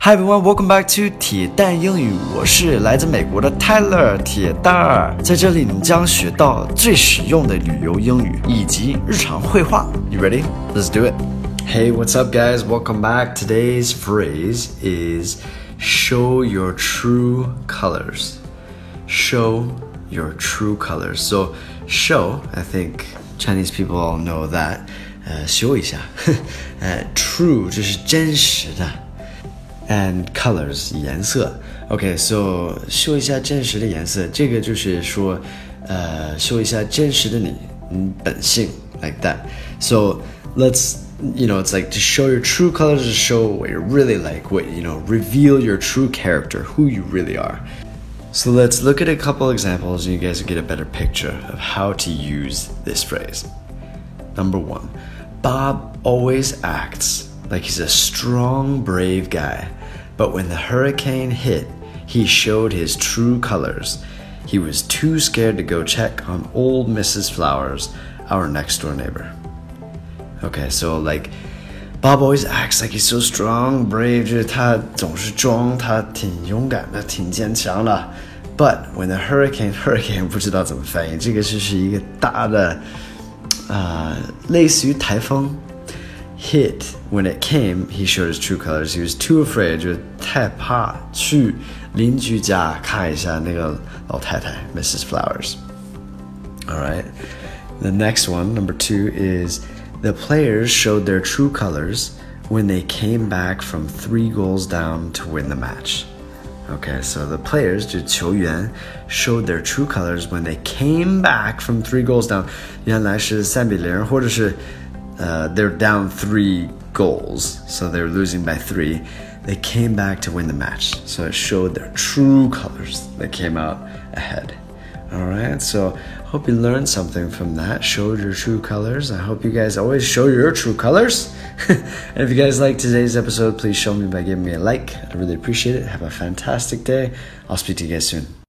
Hi everyone, welcome back to 铁蛋英语。我是来自美国的 Tyler 铁蛋儿，在这里你将学到最实用的旅游英语以及日常会话。You ready? Let's do it. Hey, what's up, guys? Welcome back. Today's phrase is show your true colors. Show your true colors. So, show, I think Chinese people all know that. 修一下true 就是真实的。And colors 颜色 OK, so 秀一下真实的颜色这个就是说秀一下真实的你本性 like that. So let's, it's like to show your true colors, to show what you're really like, reveal your true character, who you really are. So let's look at a couple examples and you guys will get a better picture of how to use this phrase. Number 1, Bob always acts like he's a strong, brave guy. But when the hurricane hit, he showed his true colors. He was too scared to go check on old Mrs. Flowers, our next-door neighbor. Okay, so like, Bob always acts like he's so strong, brave, 就是他总是装他挺勇敢的，挺坚强的。But when the hurricane 不知道怎么翻译，这个就是一个大的类似于台风。Hit, when it came, he showed his true colors. He was too afraid, 就是太怕去邻居家看一下那个老太太 Mrs. Flowers. Alright, the next one, number 2, is the players showed their true colors when they came back from 3 goals down to win the match. Okay, so the players, 就是球员 showed their true colors when they came back from 3 goals down. 原来是3-0或者是they're down 3 goals, so they're losing by 3. They came back to win the match, so it showed their true colors. They came out ahead. Alright, so hope you learned something from that. Showed your true colors. I hope you guys always show your true colors. And if you guys liked today's episode, please show me by giving me a like. I really appreciate it. Have a fantastic day. I'll speak to you guys soon.